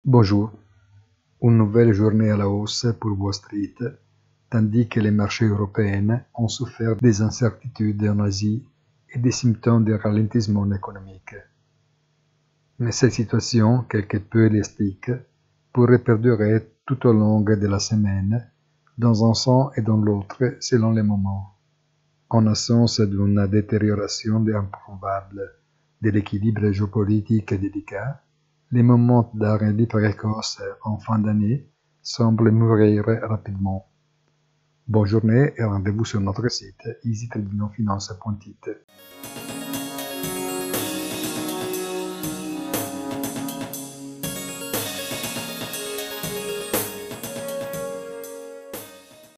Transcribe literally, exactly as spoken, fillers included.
Bonjour, une nouvelle journée à la hausse pour Wall Street, tandis que les marchés européens ont souffert des incertitudes en Asie et des symptômes de ralentissement économique. Mais cette situation, quelque peu élastique, pourrait perdurer tout au long de la semaine, dans un sens et dans l'autre selon les moments. En absence d'une détérioration improbable de l'équilibre géopolitique délicat, les moments d'arrêt précoce en fin d'année semblent mûrir rapidement. Bonne journée et rendez-vous sur notre site easy trading finance point it.